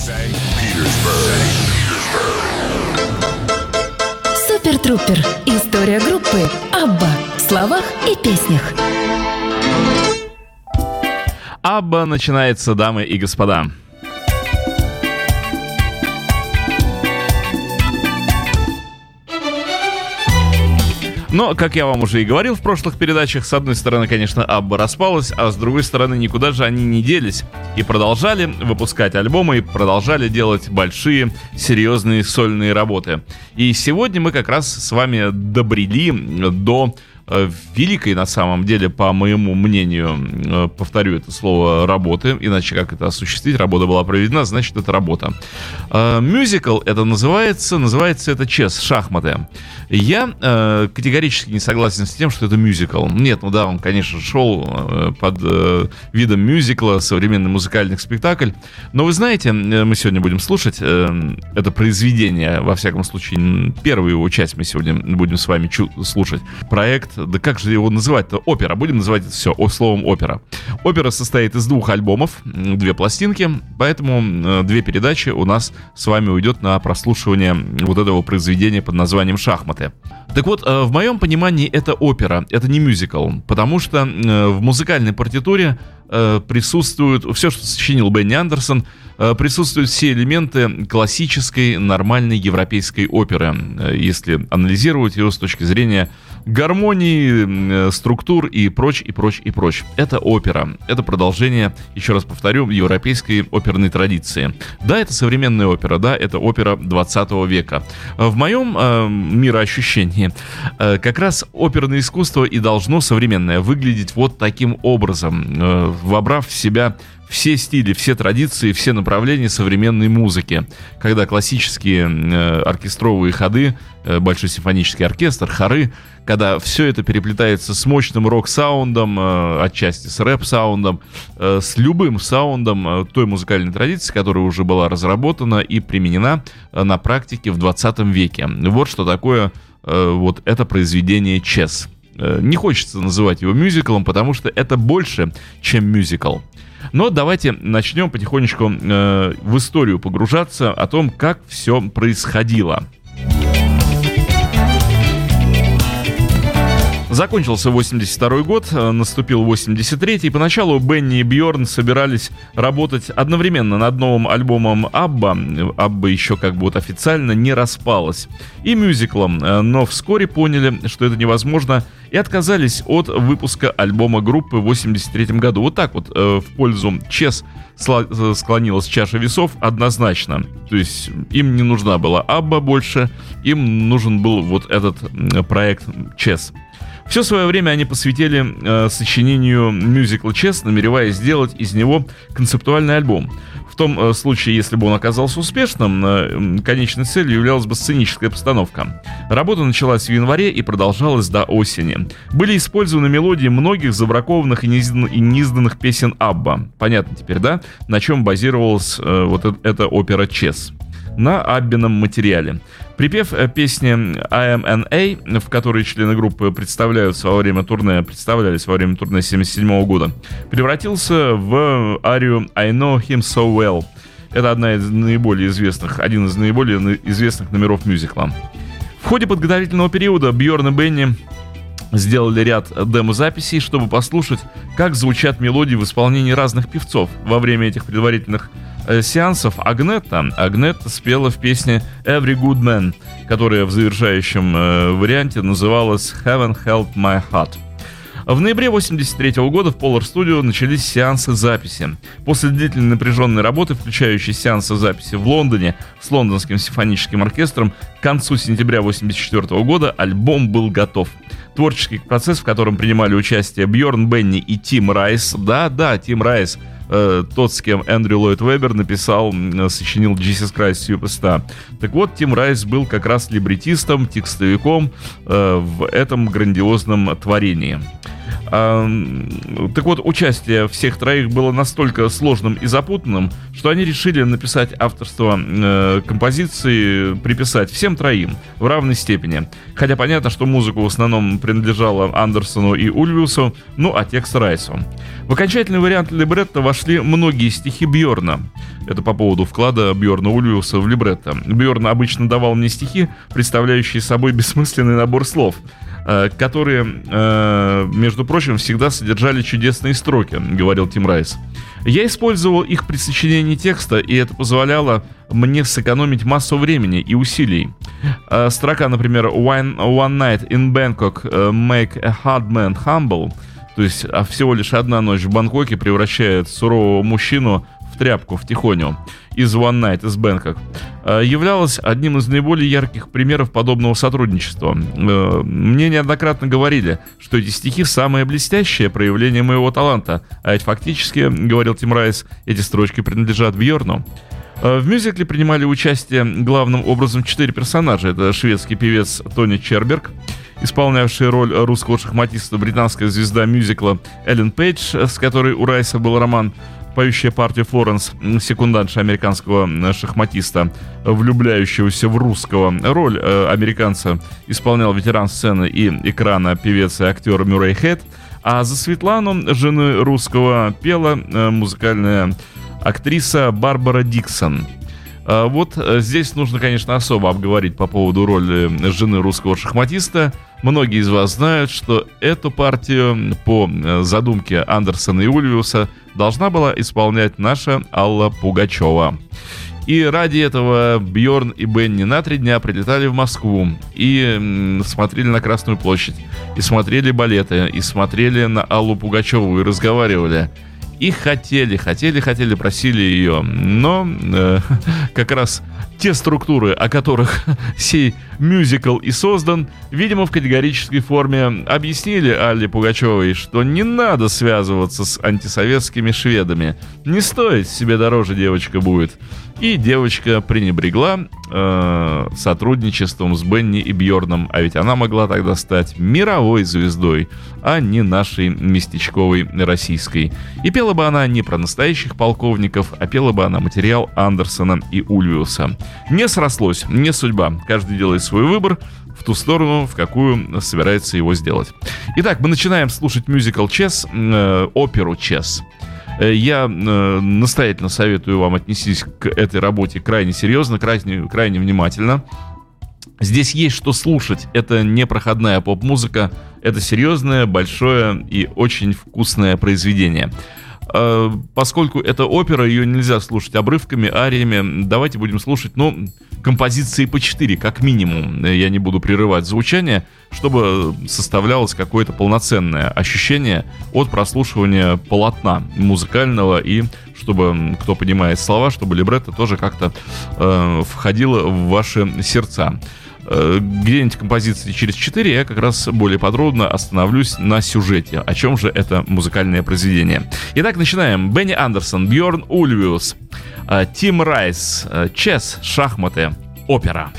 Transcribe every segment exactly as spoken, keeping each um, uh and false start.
Супер Трупер. История группы Абба в словах и песнях. Абба начинается, дамы и господа. Но, как я вам уже и говорил в прошлых передачах, с одной стороны, конечно, Абба распалась, а с другой стороны, никуда же они не делись. И продолжали выпускать альбомы, и продолжали делать большие, серьезные сольные работы. И сегодня мы как раз с вами добрели до великой, на самом деле, по моему мнению, повторю это слово, работы, иначе как это осуществить, работа была проведена, значит это работа. Мюзикл это называется, называется это чес, шахматы. Я э, категорически не согласен с тем, что это мюзикл. Нет, ну да, он, конечно, шел э, под э, видом мюзикла, современный музыкальный спектакль, но вы знаете, мы сегодня будем слушать э, это произведение, во всяком случае, первую его часть мы сегодня будем с вами чу- слушать, проект. Да как же его называть-то? Опера. Будем называть это все словом опера. Опера состоит из двух альбомов, две пластинки, поэтому две передачи у нас с вами уйдет на прослушивание вот этого произведения под названием «Шахматы». Так вот, в моем понимании это опера, это не мюзикл, потому что в музыкальной партитуре присутствуют, все, что сочинил Бенни Андерсон, присутствуют все элементы классической, нормальной европейской оперы, если анализировать ее с точки зрения гармонии, структур и прочь, и прочь, и прочь. Это опера. Это продолжение, еще раз повторю, европейской оперной традиции. Да, это современная опера, да, это опера двадцатого века. В моем э, мироощущении э, как раз оперное искусство и должно современное выглядеть вот таким образом, э, вобрав в себя все стили, все традиции, все направления современной музыки. Когда классические э, оркестровые ходы, э, большой симфонический оркестр, хоры, когда все это переплетается с мощным рок-саундом, э, отчасти с рэп-саундом, э, с любым саундом э, той музыкальной традиции, которая уже была разработана и применена э, на практике в двадцатом веке. Вот что такое э, вот это произведение «Чес». Э, не хочется называть его мюзиклом, потому что это больше, чем мюзикл. Но давайте начнем потихонечку э, в историю погружаться о том, как все происходило. Закончился восемьдесят второй год, наступил восемьдесят третий. Поначалу Бенни и Бьорн собирались работать одновременно над новым альбомом Абба. Абба еще как бы вот официально не распалась. И мюзиклом, но вскоре поняли, что это невозможно, и отказались от выпуска альбома группы в восемьдесят третьем году. Вот так вот в пользу Чес склонилась чаша весов однозначно. То есть им не нужна была Абба больше, им нужен был вот этот проект Чес. Все свое время они посвятили э, сочинению мюзикла «Чес», намереваясь сделать из него концептуальный альбом. В том э, случае, если бы он оказался успешным, э, конечной целью являлась бы сценическая постановка. Работа началась в январе и продолжалась до осени. Были использованы мелодии многих забракованных и неизданных, и неизданных песен Абба. Понятно теперь, да? На чем базировалась э, вот э- эта опера «Чес». На Аббином материале. Припев песни «I am N A», в которой члены группы представляются во время турне, представлялись во время турне семьдесят седьмого года, превратился в арию «I know him so well». Это одна из наиболее известных, один из наиболее известных номеров мюзикла. В ходе подготовительного периода Бьорн и Бенни сделали ряд демо-записей, чтобы послушать, как звучат мелодии в исполнении разных певцов. Во время этих предварительных э, сеансов Агнетта, Агнетта спела в песне «Every Good Man», которая в завершающем э, варианте называлась «Heaven Held My Heart». В ноябре восемьдесят третьего года в Polar Studio начались сеансы записи. После длительной напряженной работы, включающей сеансы записи в Лондоне с Лондонским симфоническим оркестром, к концу сентября восемьдесят четвертого года альбом был готов. Творческий процесс, в котором принимали участие Бьорн, Бенни и Тим Райс. Да-да, Тим Райс, э, тот, с кем Эндрю Ллойд Веббер написал, э, сочинил «Jesus Christ Superstar». Так вот, Тим Райс был как раз либретистом, текстовиком э, в этом грандиозном творении. А, так вот, участие всех троих было настолько сложным и запутанным, что они решили написать авторство э, композиции, приписать всем троим в равной степени. Хотя понятно, что музыку в основном принадлежала Андерсону и Ульвиусу, ну а текст Райсу. В окончательный вариант либретто вошли многие стихи Бьорна. Это по поводу вклада Бьорна Ульвиуса в либретто. Бьорн обычно давал мне стихи, представляющие собой бессмысленный набор слов, которые, между прочим, всегда содержали чудесные строки, говорил Тим Райс. Я использовал их при сочинении текста, и это позволяло мне сэкономить массу времени и усилий. Строка, например, One, one night in Bangkok make a hard man humble, то есть всего лишь одна ночь в Бангкоке превращает сурового мужчину в тряпку, в тихоню, из One Night из Bangkok, являлась одним из наиболее ярких примеров подобного сотрудничества. Мне неоднократно говорили, что эти стихи самое блестящее проявление моего таланта, а ведь фактически, говорил Тим Райс, эти строчки принадлежат Бьорну. В мюзикле принимали участие главным образом четыре персонажа. Это шведский певец Тони Черберг, исполнявший роль русского шахматиста, британская звезда мюзикла Эллен Пейдж, с которой у Райса был роман, поющая партия Флоренс, секундантша американского шахматиста, влюбляющегося в русского. Роль э, американца исполнял ветеран сцены и экрана певец и актер Мюррей Хэт, а за Светлану, жены русского, пела э, музыкальная актриса Барбара Диксон. Э, вот здесь нужно, конечно, особо обговорить по поводу роли жены русского шахматиста. Многие из вас знают, что эту партию по задумке Андерсона и Ульвиуса должна была исполнять наша Алла Пугачева. И ради этого Бьорн и Бенни на три дня прилетали в Москву и смотрели на Красную площадь, и смотрели балеты, и смотрели на Аллу Пугачеву, и разговаривали. И хотели, хотели, хотели, просили ее. Но э, как раз те структуры, о которых сей мюзикл и создан, видимо, в категорической форме объяснили Алле Пугачевой, что не надо связываться с антисоветскими шведами. Не стоит, себе дороже девочка будет. И девочка пренебрегла э, сотрудничеством с Бенни и Бьорном, а ведь она могла тогда стать мировой звездой, а не нашей местечковой российской. И пела бы она не про настоящих полковников, а пела бы она материал Андерсона и Ульвиуса. Не срослось, не судьба. Каждый делает свой выбор в ту сторону, в какую собирается его сделать. Итак, мы начинаем слушать мюзикл «Чес», э, оперу «Чес». Я э, настоятельно советую вам отнестись к этой работе крайне серьезно, крайне, крайне внимательно. Здесь есть что слушать. Это не проходная поп-музыка. Это серьезное, большое и очень вкусное произведение. Э, поскольку это опера, ее нельзя слушать обрывками, ариями. Давайте будем слушать, ну, композиции по четыре, как минимум. Я не буду прерывать звучание, чтобы составлялось какое-то полноценное ощущение от прослушивания полотна музыкального, и чтобы, кто понимает слова, чтобы либретто тоже как-то э, входило в ваши сердца. Э, где-нибудь композиции через четыре я как раз более подробно остановлюсь на сюжете. О чем же это музыкальное произведение? Итак, начинаем. Бенни Андерсон, Бьорн Ульвиус, э, Тим Райс, э, «Чес», шахматы, опера.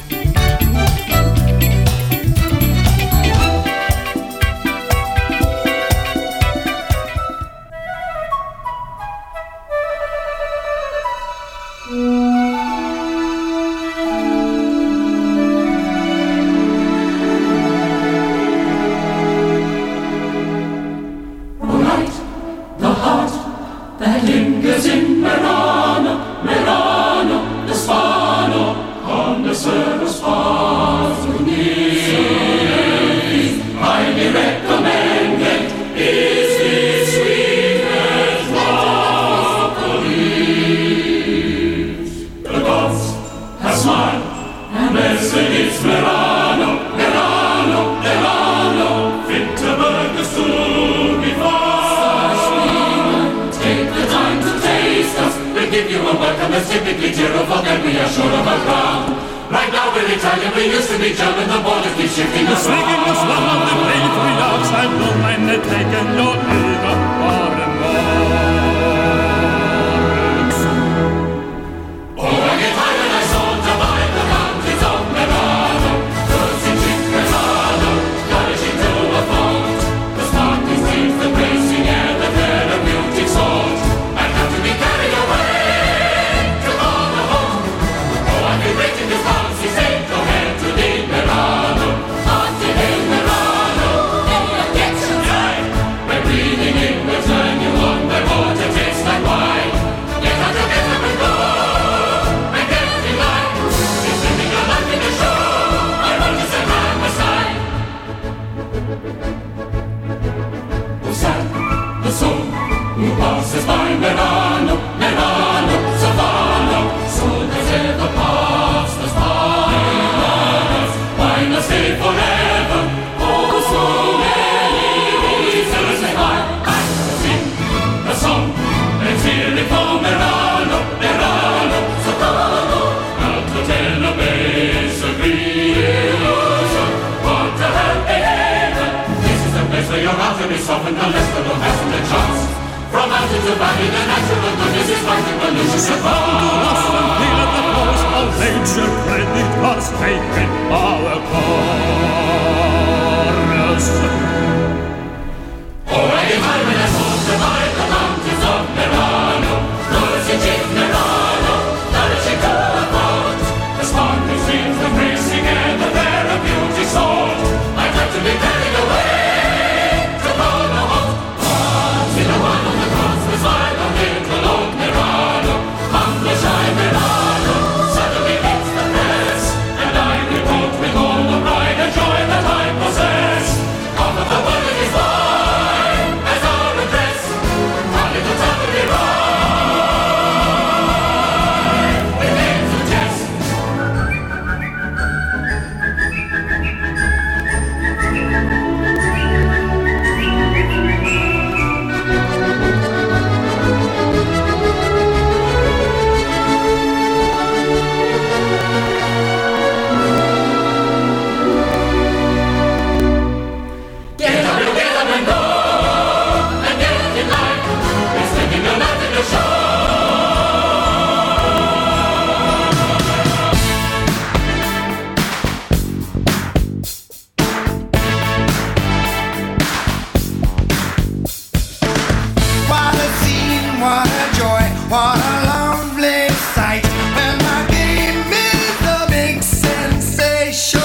Seems the surviving the natural goodness is fighting pollution. Succumb to lust and feel at the force of nature credit has taken our chorus. Already Hyman has moved to divide the mountains of Merano, nourishing Chief Merano, nourishing to a thought. The sparkling streams, the racing and the fair of beauty sought. I'd like to be carried away to Polo Hot. See the one on the cross beside the little old Merano, humble shy Merano, suddenly meets the press, and I report with all the pride and joy that I possess. Half of the world is mine, as our address, our little town will be right, with names of jest. Get up, you get up and go, and get in line. It's taking your life in the show. What a scene, what a joy, what a lovely sight. When my game is a big sensation.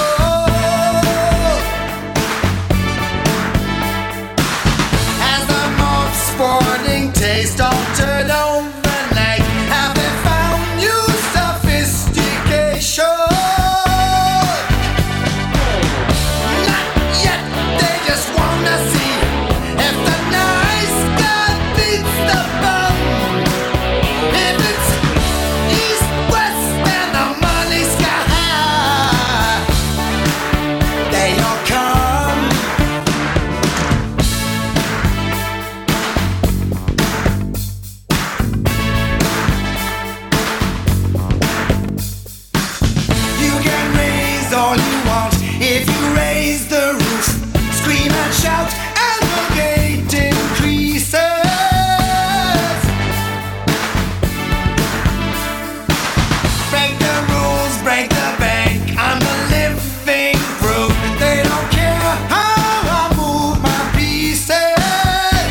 Has the mob sporting taste altered overnight? Have they found new sophistication? Not yet, they just wanna see if the nice guy beats the bum. If it's east, west, and the money sky high, they all come. You can raise all you want if you raise the roof. Scream and shout, and the gate increases. Break the rules, break the bank. I'm the living proof. They don't care how I move my pieces.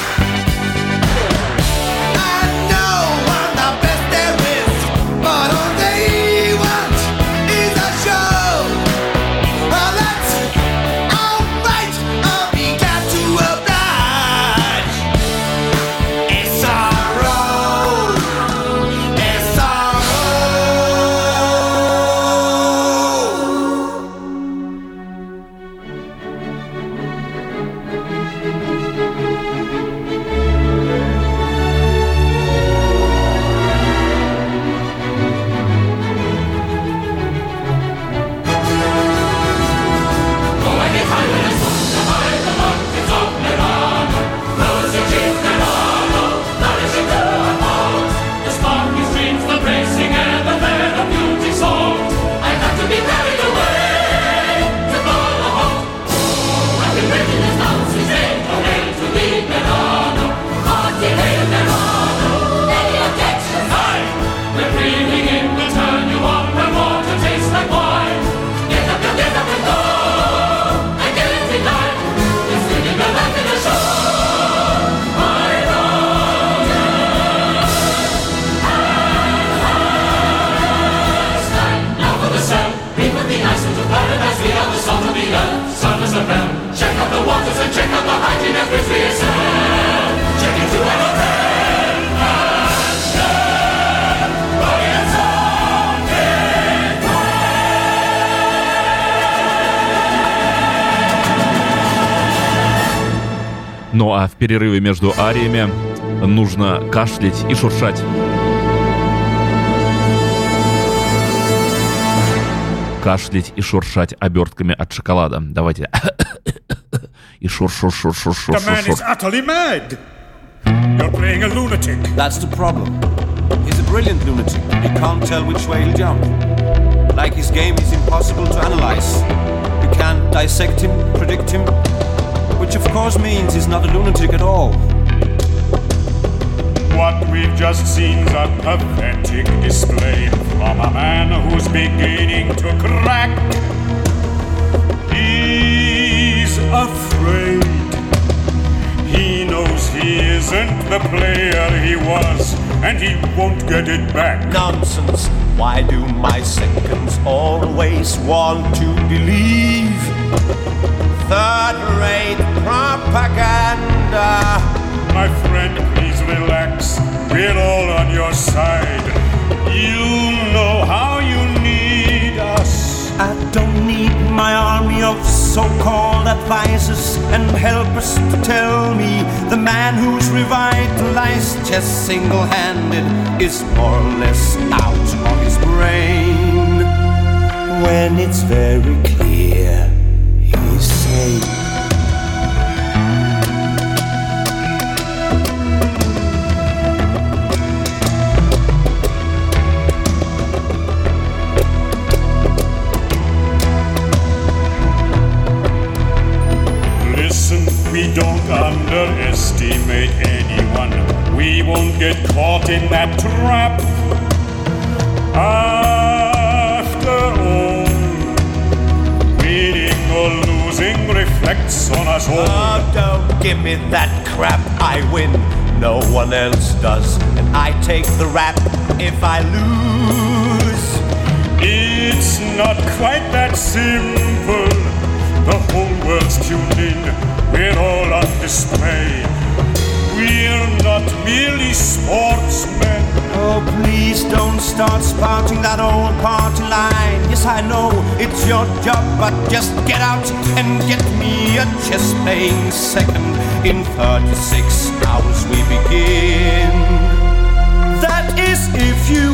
I know I'm the best there is, but all they want is a show. Well, that's alright, I'll be glad to oblige. It's our road, it's our Already Hyman has moved to divide the mountains of Merano, nourishing Chief Merano, nourishing to a thought. The sparkling streams, the racing and the fair of beauty sought. I'd like to be carried away to Polo Hot. I've been breaking his bounds since day or hail to leave Merano. Hearty hail Merano, any objections? Aye, we're breathing in will turn you up and water tastes like wine. Get up, you get up and go, and get in line. It's taking your life in the show. My Palestine. Now for the cell, we put the ice into paradise. We are the salt of the earth, sun is a bell. Check out the waters and check out the hygiene of which we excel. Check into our hotel and share. Body and soul, get Ну а в перерыве между ариями нужно кашлять и шуршать. Кашлять и шуршать обертками от шоколада. Давайте. И шур-шур-шур-шур-шур-шур. The man is utterly mad. You're playing a lunatic. That's the problem. He's a brilliant lunatic. You can't tell which way he'll jump. Like his game is impossible to analyze. You can't dissect him, predict him, which of course means he's not a lunatic at all. what we've just seen's a pathetic display from a man who's beginning to crack. He's afraid. He knows he isn't the player he was, and he won't get it back. Nonsense. Why do my seconds always want to believe third-rate propaganda? My friend, please relax. We're all on your side. You know how you need us. I don't need my army of so-called advisors and helpers to tell me the man who's revitalized chess single-handed is more or less out of his brain. When it's very clear he's safe. We don't underestimate anyone. We won't get caught in that trap. After all, winning or losing reflects on us all. Oh, don't give me that crap. I win, no one else does, and I take the rap if I lose. It's not quite that simple. The whole world's tuned in. We're all on display. We're not merely sportsmen. Oh, please don't start spouting that old party line. Yes, I know it's your job, but just get out and get me a chess playing second. In thirty-six hours we begin. That is if you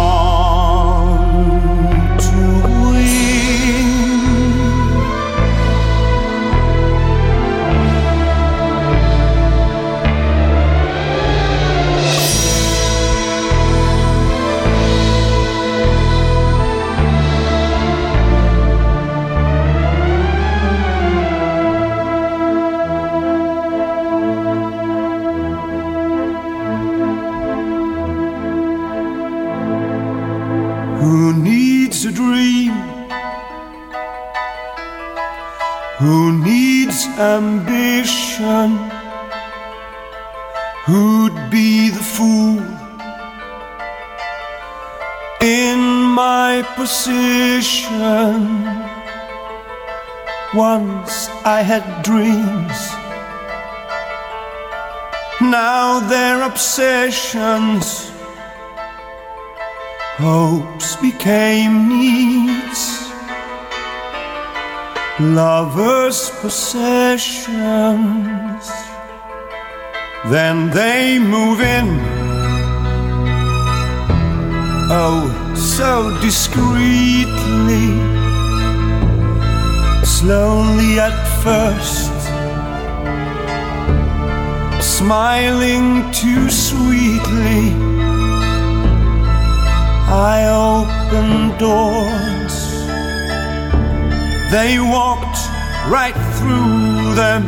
want to win. Who needs a dream? Who needs ambition? Who'd be the fool in my position? Once I had dreams, now they're obsessions. Hopes became needs, lovers' possessions. Then they move in, oh, so discreetly, slowly at first, smiling too sweetly. I opened doors, they walked right through them,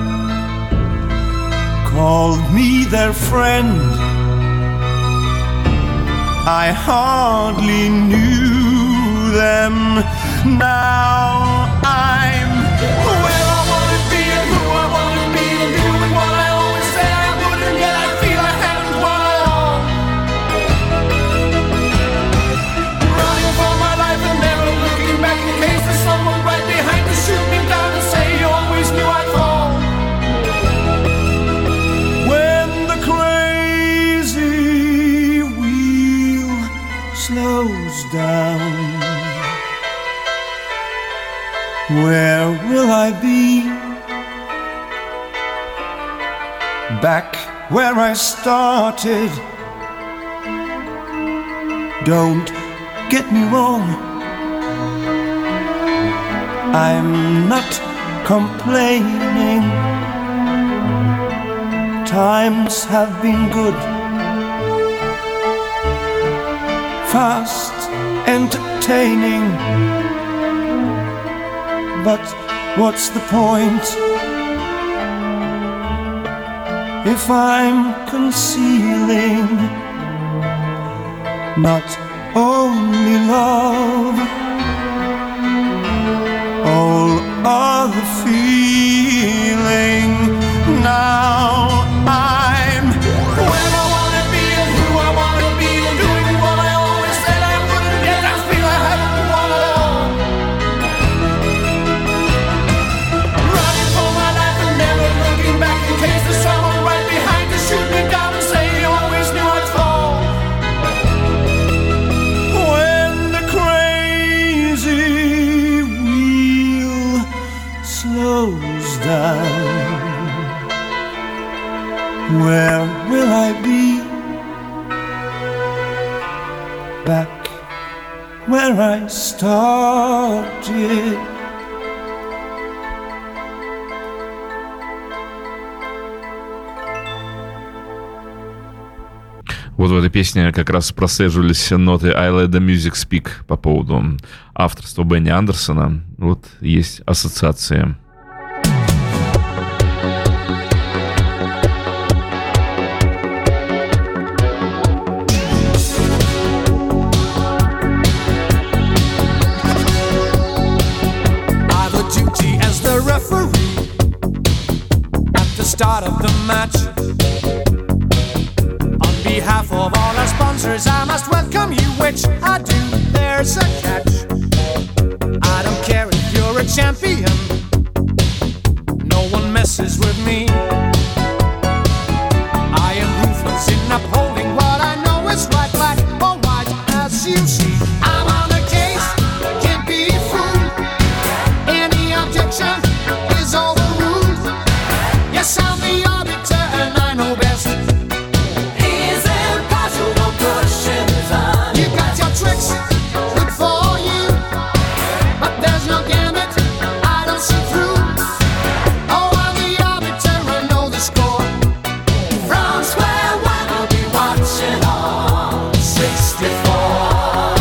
called me their friend. I hardly knew them. Now I'm where I wanna be and who I wanna be and doing what I always said I would, and yet I feel I haven't won at all. Running for my life and never looking back in case there's someone right behind to shoot me down and say you always knew I'd fall. When the crazy wheel slows down, where will I be? Back where I started. Don't get me wrong, I'm not complaining. Times have been good, fast, entertaining. But what's the point? if I'm concealing not only love, all other feeling. Now I'm where I wanna be and who I wanna be and doing what I always said I wouldn't, yet I feel I haven't won at all. Running for my life and never looking back in case there's someone right behind to shoot me down and say you always knew I'd fall. When the crazy wheel slows down, where will I be? Back where I started. Вот в этой песне как раз прослеживались ноты I Let the Music Speak по поводу авторства Бенни Андерсона. Вот есть ассоциация. Start of the match. On behalf of all our sponsors, I must welcome you, which I do. There's a catch. I don't care if you're a champion, no one messes with me. I am ruthless in upholding what I know is right, black or white, as you see. I'm on the case, can't be fooled. Any objection is overruled. Yes, I'm the arbiter and I know best. He's impartial, no pushing his on. You got your tricks, good for you, but there's no gambit I don't see through. Oh, I'm the arbiter, I know the score. From square one, I'll be watching on sixty-four.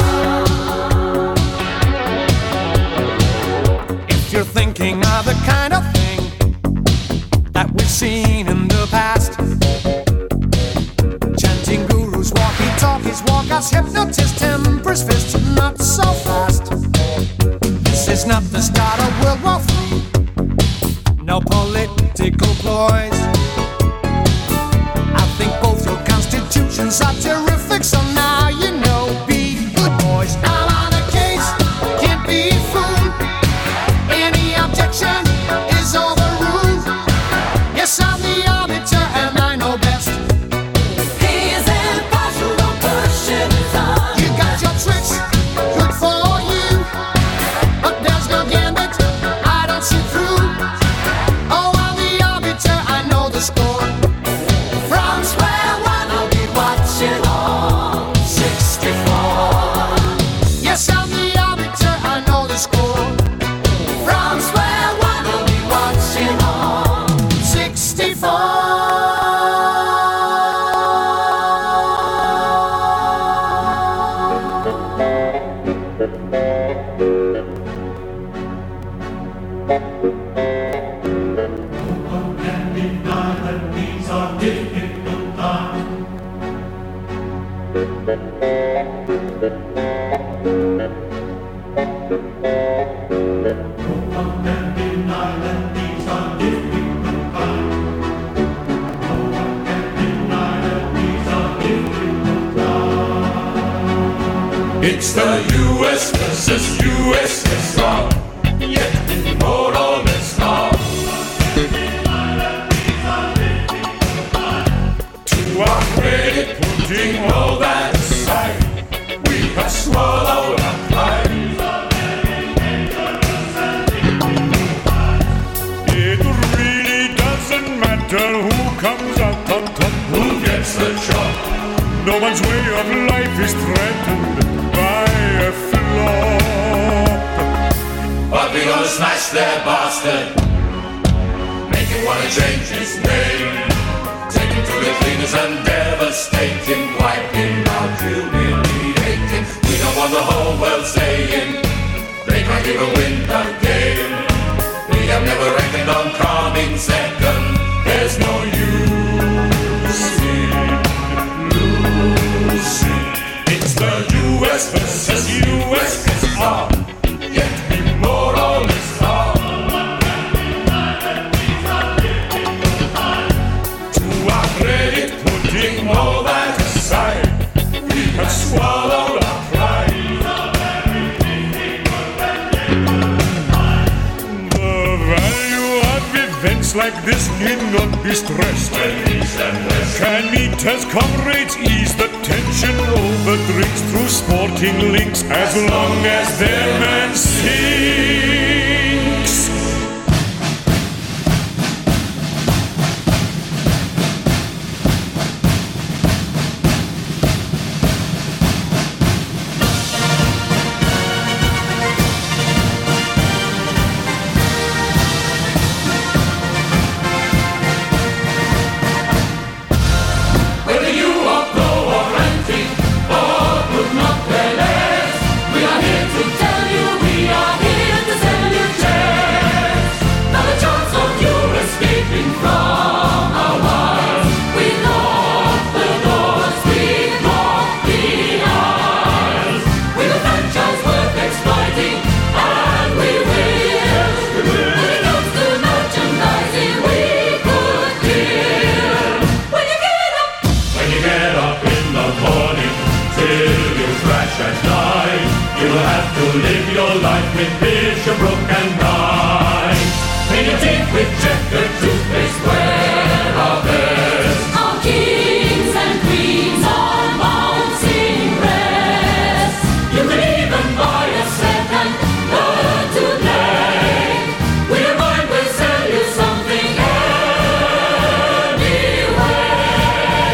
If you're thinking of the kind of that we've seen in the past, chanting gurus, walkie-talkies, walk us, hypnotist, emperor's fist, not so fast. This is not the start of World War Three, no political ploys. I think both your constitutions are terrific, so now you know, be good boys. I'm on a case, can't be fooled. Any objection is overruled. Yes, I'm the arbiter and I know best. He's impartial, don't push him on. You got your tricks, good for you, but there's no gambit I don't see through. Oh, I'm the arbiter, I know the score. From square one, I'll be watching on sixty-four. Yes, I'm the arbiter, I know the score. From square one, I'll be watching on sixty-four. It's the U S versus U S S R, yet more or less now. To our credit, putting all that aside, we have swallowed our pride. It really doesn't matter who comes out on top, Who gets the job? no one's way of life is threatened by a flop. But we gonna smash that bastard, make him wanna change his name, take him to the cleaners and devastate him, wipe him out, humiliate him. We don't want the whole world saying they can't even win the game. We have never reckoned on coming second, there's no use like this need not be stressed. Can meet as comrades ease the tension over drinks through sporting links as long as their man sinks. Live your life with Bishopbrook and Rye. Clean your teeth with checkered toothpaste, wear our best. All kings and queens on bouncing rest. You can even buy a set and learn to play. We don't mind, we'll sell you something anyway.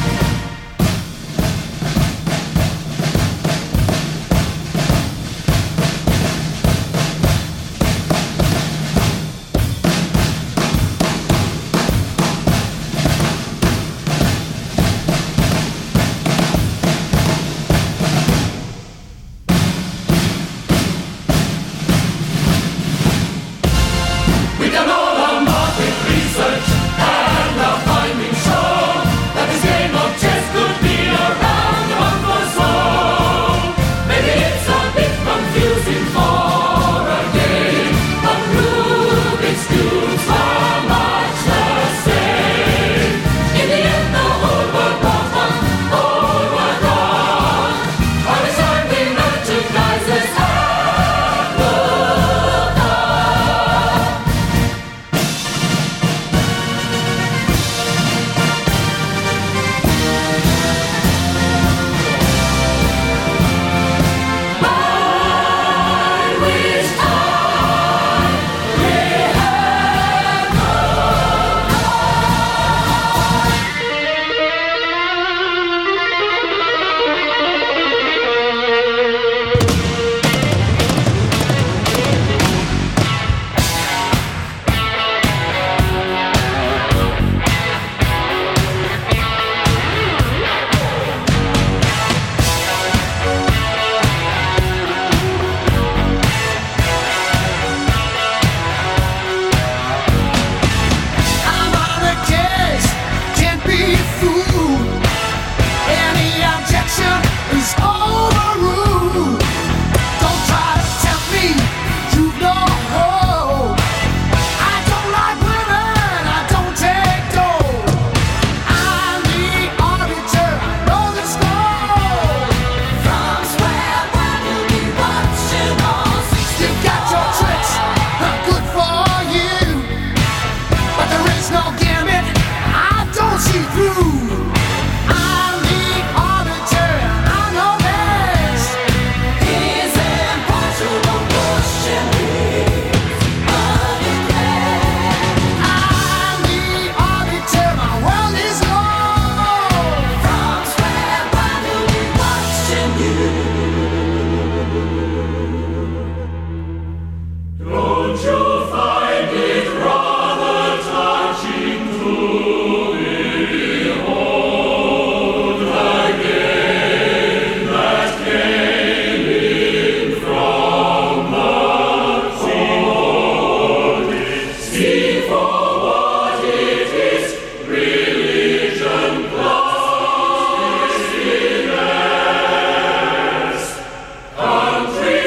We've done all our market research and are finding sure that this game of chess could be around the month or so. Maybe it's a bit confusing for a game, but Rubik's cubes are much the same. In the end, the whole world was one, whole world wrong. By the time we recognize this and look up. I wish I may have I'm on a case, can't be fooled. Any objection is overruled. Don't try to tempt me, you've no hope. I don't like women, I don't take dough. I'm the arbiter, I know the score. From square one, you'll be watching all sixty. You got your tricks, not good for you. But there is no gambit, I don't see through. I'm the arbiter, I know best. He's impartial, don't push him, I'm the arbiter, my world is low. From square one, you'll be watching you. Don't you find it rather touching to behold again that came in from the sea? See for what it is, religion plus business. Country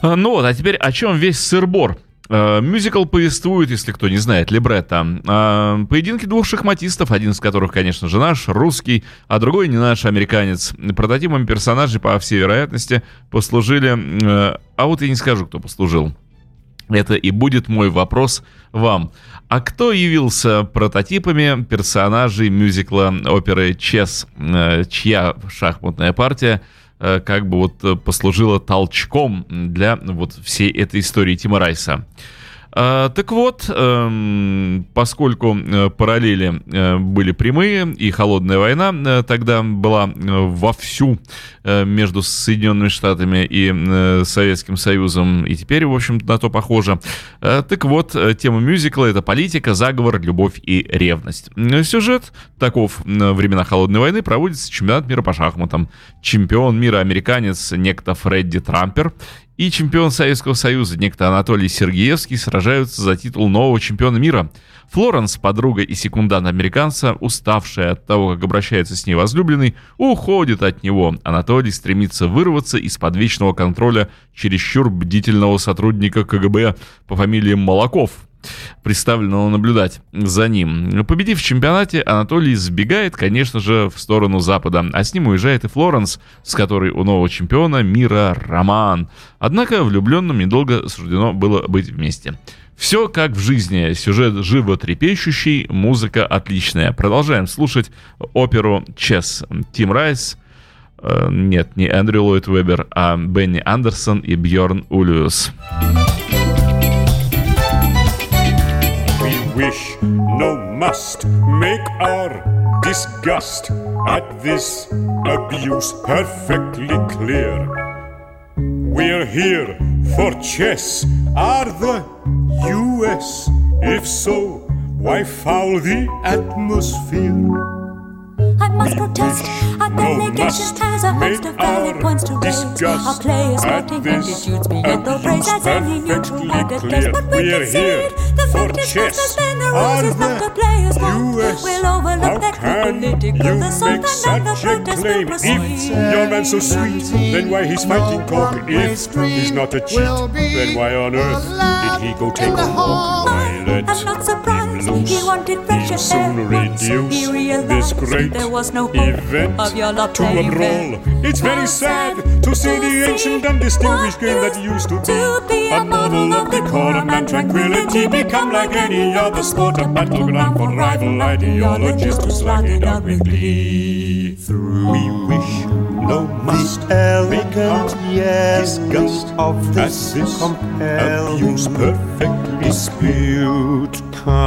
Ну вот, а теперь о чем весь сыр-бор? Э, Мюзикл повествует, если кто не знает, либретто. Э, Поединки двух шахматистов, один из которых, конечно же, наш, русский, а другой не наш, американец. Прототипом персонажей, по всей вероятности, послужили... э, А вот я не скажу, кто послужил. Это и будет мой вопрос вам. А кто явился прототипами персонажей мюзикла оперы «Чес», э, чья шахматная партия э, как бы вот послужила толчком для вот всей этой истории Тима Райса? А, так вот, эм, поскольку э, параллели э, были прямые, и холодная война э, тогда была э, вовсю э, между Соединенными Штатами и э, Советским Союзом, и теперь, в общем, на то похоже. Э, так вот, э, тема мюзикла — это политика, заговор, любовь и ревность. Э, сюжет таков: во времена холодной войны проводится чемпионат мира по шахматам. Чемпион мира американец некто Фредди Трампер и чемпион Советского Союза, некто Анатолий Сергеевский, сражаются за титул нового чемпиона мира. Флоренс, подруга и секундант американца, уставшая от того, как обращается с ней возлюбленный, уходит от него. Анатолий стремится вырваться из-под вечного контроля чересчур бдительного сотрудника ка гэ бэ по фамилии Молоков, представленного наблюдать за ним. Победив в чемпионате, Анатолий сбегает, конечно же, в сторону Запада, а с ним уезжает и Флоренс, с которой у нового чемпиона мира роман. Однако влюбленным недолго суждено было быть вместе. Все как в жизни, сюжет животрепещущий, музыка отличная. Продолжаем слушать оперу «Чес». Тим Райс, э, нет, не Эндрю Ллойд Веббер, а Бенни Андерсон и Бьорн Ульюс. Wish, no must, make our disgust at this abuse perfectly clear. We're here for chess, are the U S? If so, why foul the atmosphere? I must protest. Our delegation has a host of valid points to raise. Our players sporting attitudes beyond the praise as any neutral minded place. But we concede the fact is must suspend the rules is not the players' fault. We'll overlook that political assault and the protest will proceed. If your man's so sweet, then why he's fighting cock? If he's not a cheat, then why on earth did he go take a walk? I'm not surprised. He wanted fresh air. Once he realized this great there was no hope event of your love to unroll. It's very sad to see the ancient and distinguished game that used to be a model of decorum and tranquility become like any other sport, a battleground for rival ideologies to slug it out with glee. Through we wish, no must, elegant yes disgust of this abuse perfectly dispute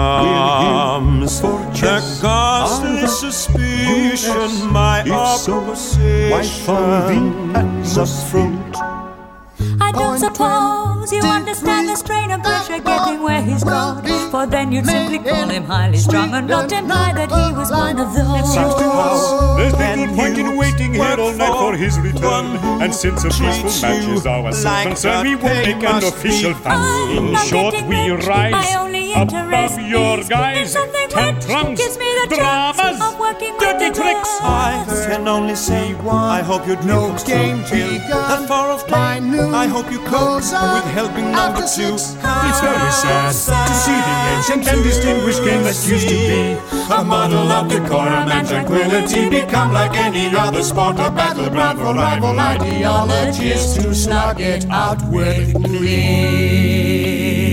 comes for the ghastly suspicion, my opposition. Why from the atmosphere? I don't suppose you understand the strain of pressure getting where he's gone. For then you'd simply call him highly strung and not imply that he was one of those. It seems to us there's little point in waiting here all night for his return. And since a peaceful match is our sole concern, we won't make an official fuss. In short, we rise above your guys, tantrums, dramas, dirty tricks. I can only say I hope you'd no game that far off time. I hope you cope with helping number two. It's very sad to see the ancient and distinguished game that used to be a model of decorum and tranquility become like any other sport, a battleground for rival ideologies to slug it out with glee.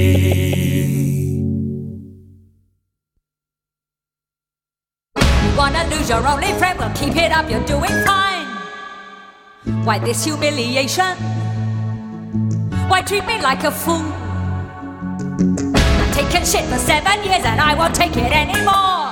You wanna lose your only friend? Well, keep it up, you're doing fine. Why this humiliation? Why treat me like a fool? I've taken shit for seven years and I won't take it anymore.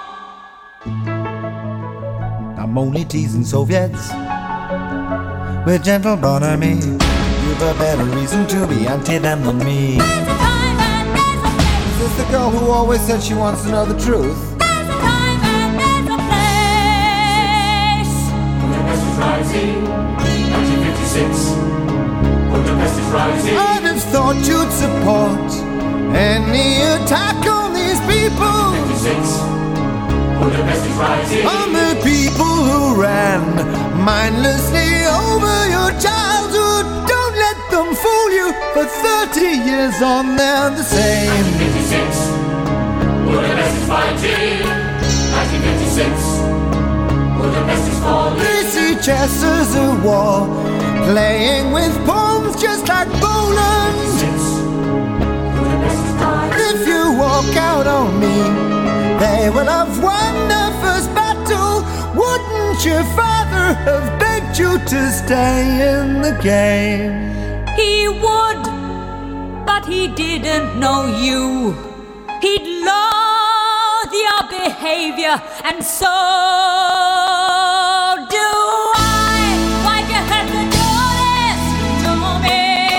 I'm only teasing Soviets with gentle bonhomie. You've a better reason to be anti them than me. There's a time and there's a place. Is this the girl who always said she wants to know the truth? There's a time and there's a place. Budapest is rising, nineteen fifty-six. Budapest is rising. I'd have thought you'd support any attack on these people. fifty-six. Budapest is rising. On the people who ran mindlessly over your childhood. Don't let them fool you. twenty years on, they're the same. nineteen fifty-six, Budapest is fighting. nineteen fifty-six, Budapest is falling. We see chess as a war, playing with pawns just like bowling. Budapest is dying. If you walk out on me, they will have won their first battle. Wouldn't your father have begged you to stay in the game? He would, but he didn't know you. He'd loathe your behavior, and so do I. Why'd you have to do this to me?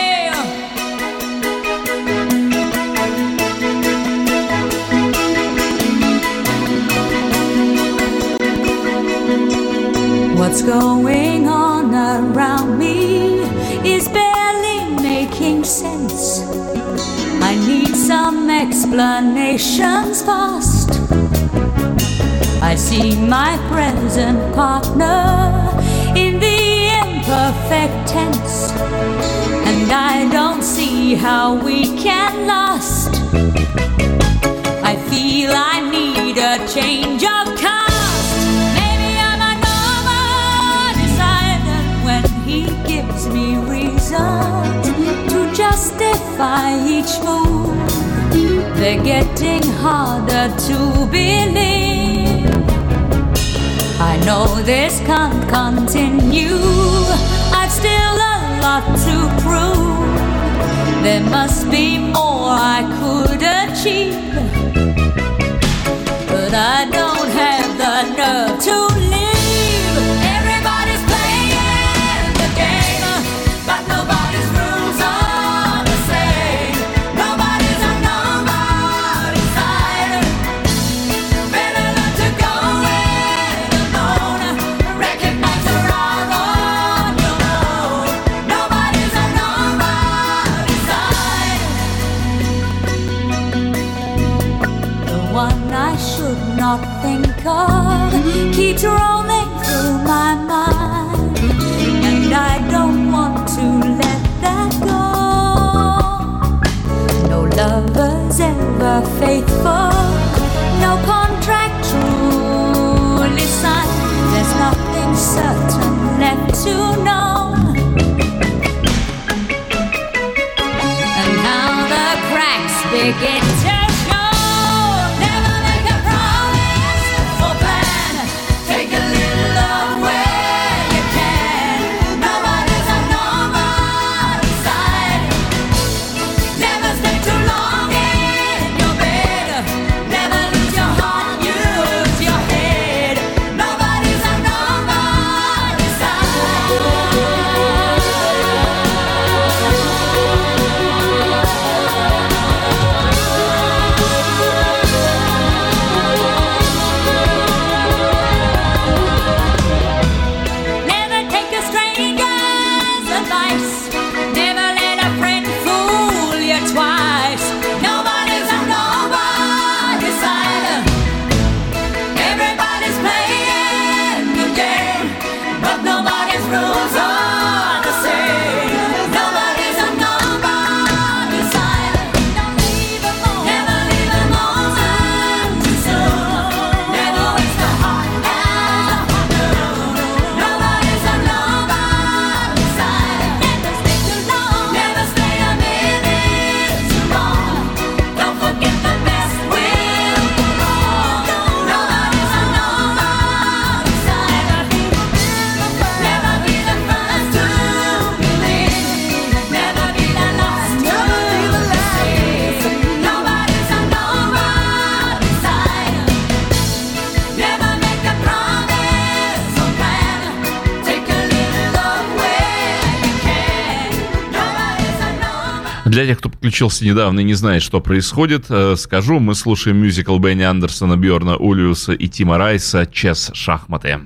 What's going on around me is barely making sense. I need some explanations fast. I see my present partner in the imperfect tense, and I don't see how we can last. I feel I need a change of cast. Maybe I'm a normal decider when he gives me reason to justify each move. They're getting harder to believe. I know this can't continue. I've still a lot to prove. There must be more I could achieve, but I don't have the nerve to leave. Everybody's playing the game, but nobody's rules are the same. Nobody's a nobody's side. Better learn to go it alone. Recognize you're out on your own. Nobody's a nobody's side. The one I should not think of keeps rolling through my mind, and I don't want to let that go. No lover's ever faithful, no contract truly signed. There's nothing certain left to know, and how the cracks begin to show. Never make a promise or plan. Take a little of where you can. Nobody's a nobody's side. Never stay too long in your bed. Never lose your heart, use your head. Nobody's a nobody's Never take a stranger's advice. Never let a friend fool you twice. Nobody's a nobody's side. Everybody's playing the game, but nobody's rules are the same. Nobody's a nobody's side. Don't leave a moment. Never leave a moment too soon. Never waste a heart afternoon. Nobody's a nobody's side. Never stay too long. Never stay a minute too long. Don't forget the best will go wrong. Nobody's a nobody's side. Never be the first to believe. Never be the last to see. Nobody's a nobody's side. Never make a promise or plan. Take a little of where you can. Nobody's a nobody's. Для тех, кто подключился недавно и не знает, что происходит, э, скажу, мы слушаем мюзикл Бенни Андерсона, Бьорна Улиуса и Тима Райса «Чес. Шахматы».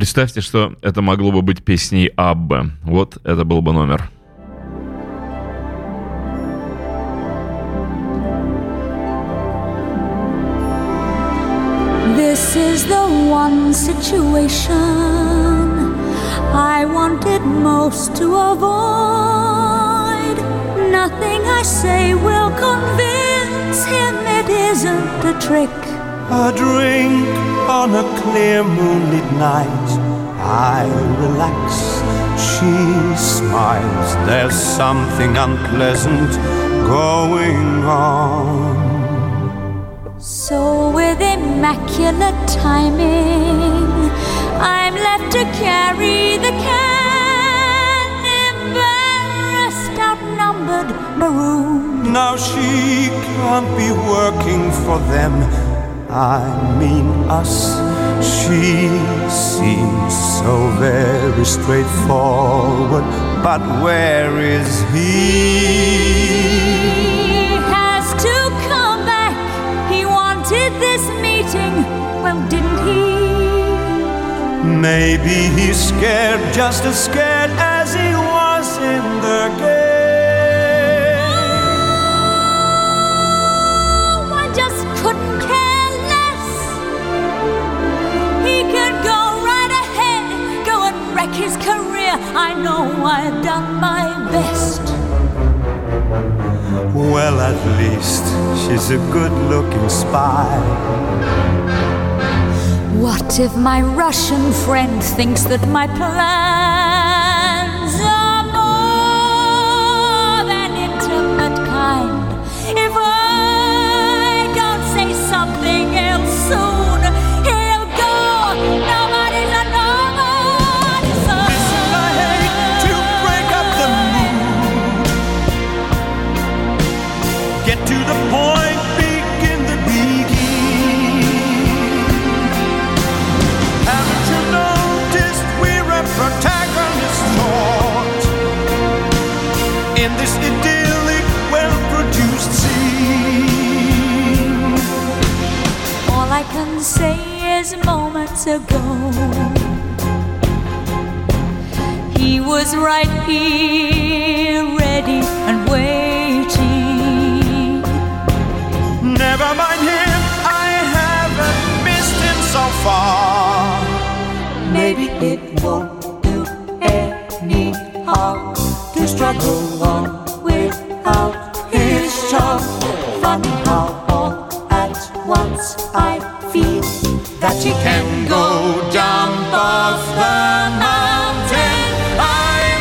представьте, что это могло бы быть песней Аббы. Вот это был бы номер. This is the one situation I wanted most to avoid. Nothing I say will convince him it isn't a trick. A drink on a clear moonlit night, I relax, she smiles. There's something unpleasant going on. So with immaculate timing, I'm left to carry the can, embarrassed, outnumbered, marooned. Now she can't be working for them, I mean us. She seems so very straightforward, but where is he? He has to come back. He wanted this meeting, well, didn't he? Maybe he's scared, just as scared as he was in the game. Oh, I just couldn't care less. He could go right ahead, go and wreck his career. I know I've done my best. Well, at least she's a good-looking spy. What if my Russian friend thinks that my plans are more than intimate kind? If I don't say something else soon, he'll go. Nobody's a nobody's son. Listen, I hate to break up the mood. Get to the point, begin the begin. Haven't you noticed we're a protagonist thought in this idyllic, well-produced scene? All I can say is moments ago, he was right here, ready and waiting. Never mind him, I haven't missed him so far. Maybe it won't do any harm to struggle on without his charm. Funny how all at once I feel that he can go jump off the mountain. I'm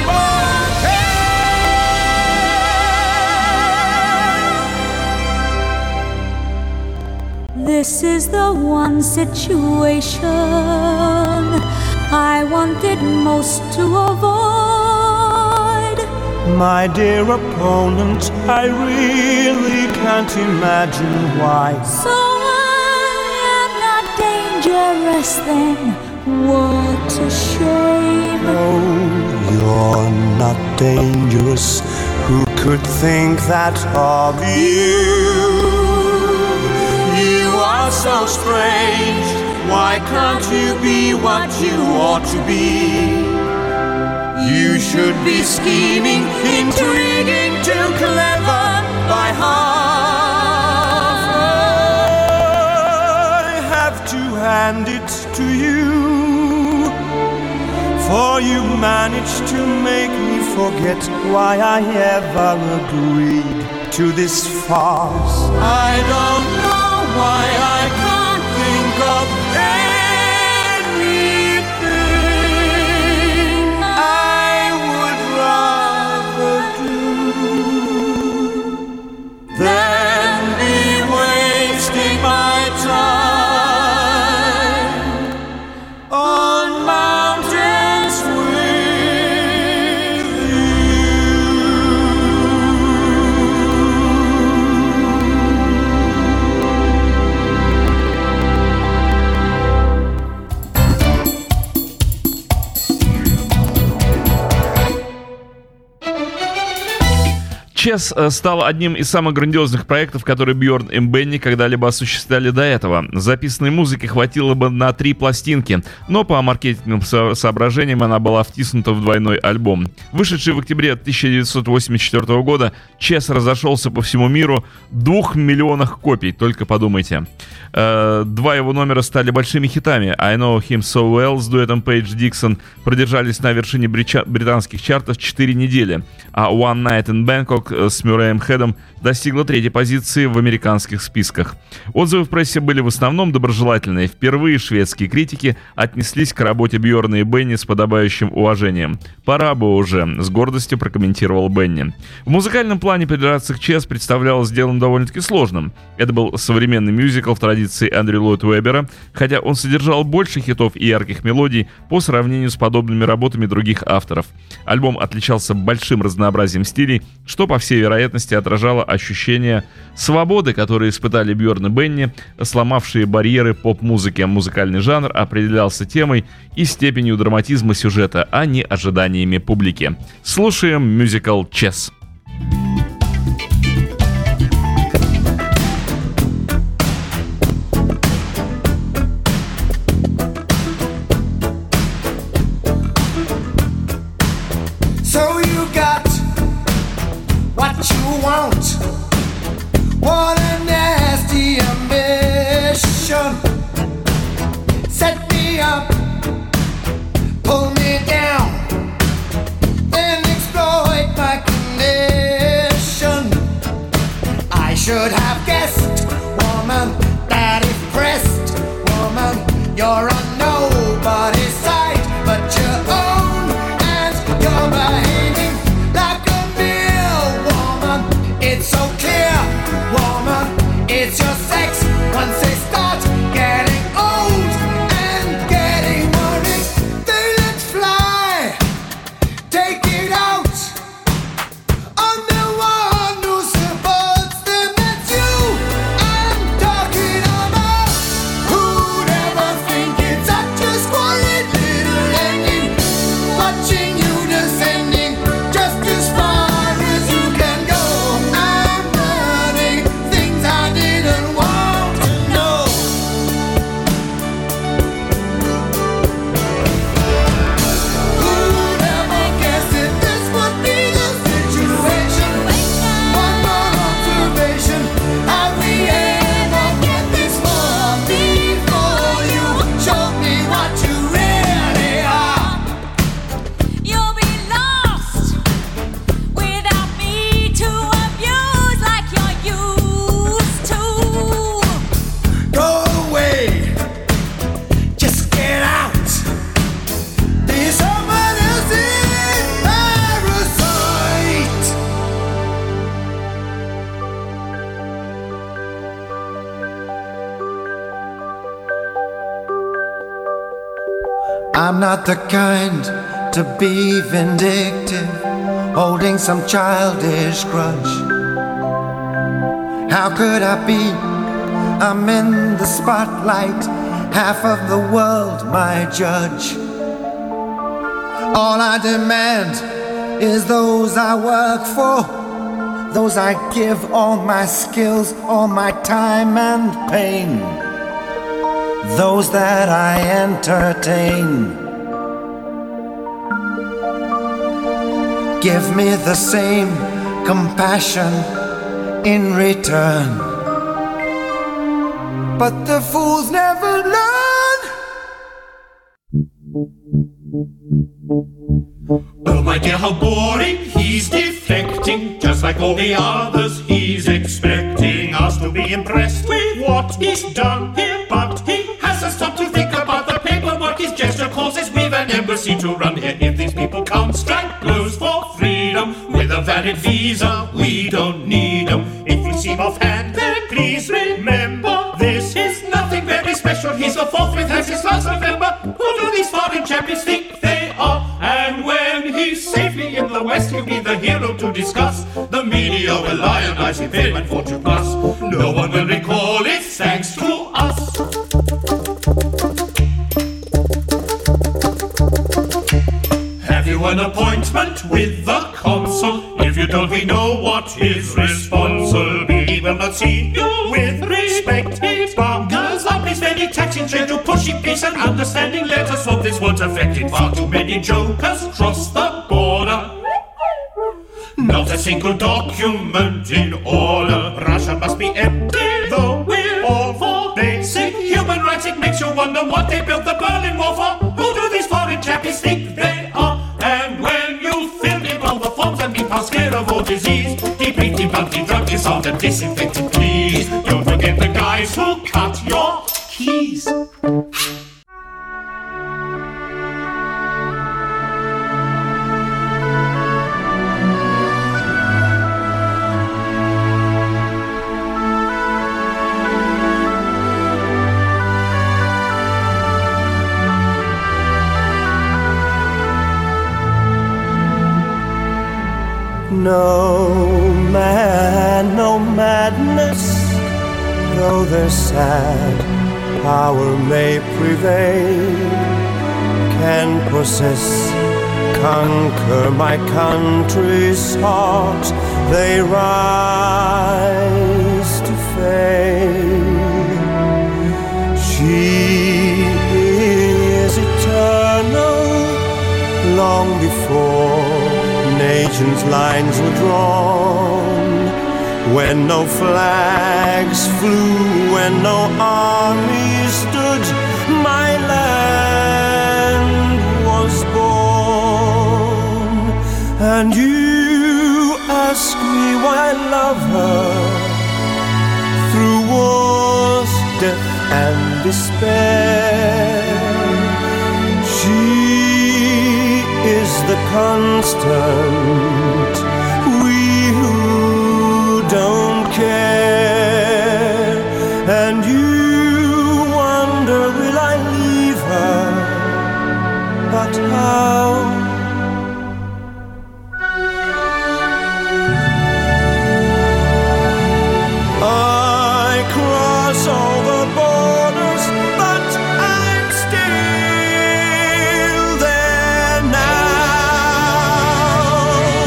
okay. This is the one situation I wanted most to avoid. My dear opponent, I really can't imagine why. So I am not dangerous then. What a shame. Oh, you're not dangerous. Who could think that of you? You are so strange. Why can't you be what you ought to be? You should be scheming, intriguing, too clever by half. I have to hand it to you, for you managed to make me forget why I ever agreed to this farce. I don't know why I can't think of anything I would rather do than be wasting my time on mountains with you. Chess стал одним из самых грандиозных проектов, которые Бьорн и Бенни когда-либо осуществляли до этого. Записанной музыки хватило бы на три пластинки, но по маркетинговым со- соображениям она была втиснута в двойной альбом. Вышедший в октябре тысяча девятьсот восемьдесят четвёртого года, Chess разошелся по всему миру двух миллионах копий, только подумайте. Э, два его номера стали большими хитами. I Know Him So Well с дуэтом Пейдж Диксон продержались на вершине брича- британских чартов четыре недели, а One Night in Bangkok с Мюрреем Хедом достигла третьей позиции в американских списках. Отзывы в прессе были в основном доброжелательные. Впервые шведские критики отнеслись к работе Бьорна и Бенни с подобающим уважением. «Пора бы уже», — с гордостью прокомментировал Бенни. В музыкальном плане придраться к Chess представлялось делом довольно-таки сложным. Это был современный мюзикл в традиции Эндрю Ллойд Уэббера, хотя он содержал больше хитов и ярких мелодий по сравнению с подобными работами других авторов. Альбом отличался большим разнообразием стилей, что, по всей вероятности, отражало ощущение свободы, которые испытали Бьорн и Бенни, сломавшие барьеры поп-музыки. Музыкальный жанр определялся темой и степенью драматизма сюжета, а не ожиданиями публики. Слушаем мюзикл «Chess». So you got what you want. What a nasty ambition. Set me up, pull me down, then exploit my condition. I should have guessed, woman, that if pressed, woman, you're on nobody's side but your own, and you're behaving like a mere woman. It's so clear, woman, it's your sex. Once they start getting old and getting worried, they let fly. Take it out on the one who supports them. That's you I'm talking about. Who'd ever think it's such a squalid little ending? Watching you descending just as far as you can go. I'm learning things I didn't want to know. Who'd ever guess that this would be the situation? One more observation. Have we ever get this far before you showed me what you really are? You'll be lost without me to abuse like you're used to. Go away, just get out. Be someone else's parasite. I'm not the kind to be vindictive, holding some childish grudge. How could I be? I'm in the spotlight, half of the world my judge. All I demand is those I work for, those I give all my skills, all my time and pain, those that I entertain. Give me the same compassion in return. But the fools never learn. Oh my dear, how boring, he's defecting. Just like all the others, he's expecting us to be impressed with what he's done here. But he hasn't stopped to think about the paperwork his gesture causes. We've an embassy to run here. If these people can't strike blows for freedom with a valid visa, we don't need them. If you seem offhand, then please remember this is nothing very special. He's the fourth with us since last November. Who do these foreign champions think they are? And when he's safely in the West, he'll be the hero to discuss. The media will lionize him, fame and fortune plus. No one will recall it thanks to us. Have you an appointment with the consul? If you don't we know what his response will be? He will not see you with respect. Girls up his very taxing trade to pushy peace and understanding. Let us hope this won't affect it. Far too many jokers cross the border. Not a single document in order. Russia must be empty, though we're all for basic human rights. It makes you wonder what they built the Berlin Wall for. Who do these foreign chappies think they are? And when you fill in all the forms and be past scared of all disease, deeply debunked, drug disarmed and disinfected, please. Don't forget the guys who cut your keys. No man, no madness, though their sad power may prevail, can possess, conquer my country's heart. They rise to fame. She is eternal, long before nations' lines were drawn, when no flags flew, when no army stood, my land was born. And you ask me why I love her, through wars, death and despair. She is the constant, we who don't care. And you wonder, will I leave her? But how? I cross over borders, but I'm still there now.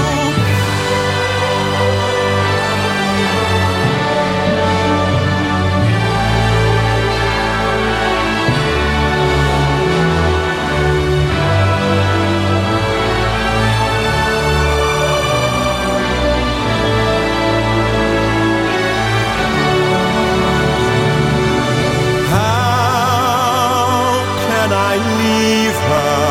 How can I leave her?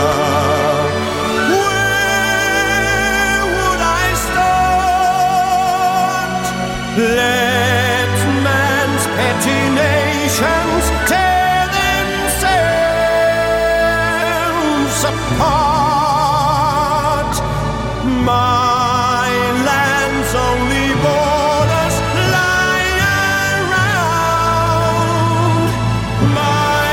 Where would I start? Let man's petty nations tear themselves apart. My land's only borders lie around my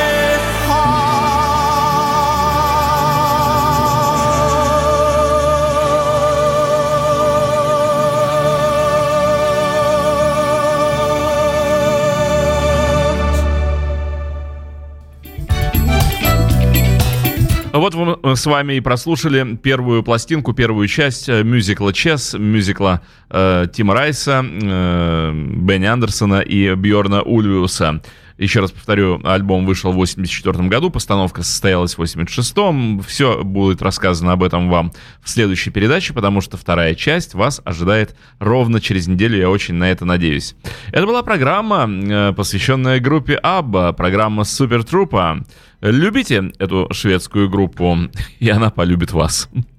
Вот мы с вами и прослушали первую пластинку, первую часть мюзикла «Чес», мюзикла э, Тима Райса, э, Бенни Андерсона и Бьорна Ульвиуса. Еще раз повторю, альбом вышел в восемьдесят четвёртом году, постановка состоялась в восемьдесят шестом. Все будет рассказано об этом вам в следующей передаче, потому что вторая часть вас ожидает ровно через неделю, я очень на это надеюсь. Это была программа, посвященная группе Абба, программа Супер Трупа. Любите эту шведскую группу, и она полюбит вас.